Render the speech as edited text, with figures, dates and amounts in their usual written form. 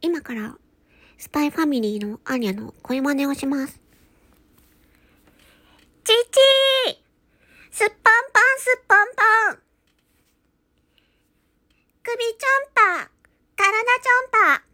今から、スパイファミリーのアーニャの声真似をします。チチーすっぽんぽんすっぽんぽん首ちょんぱ体ちょんぱ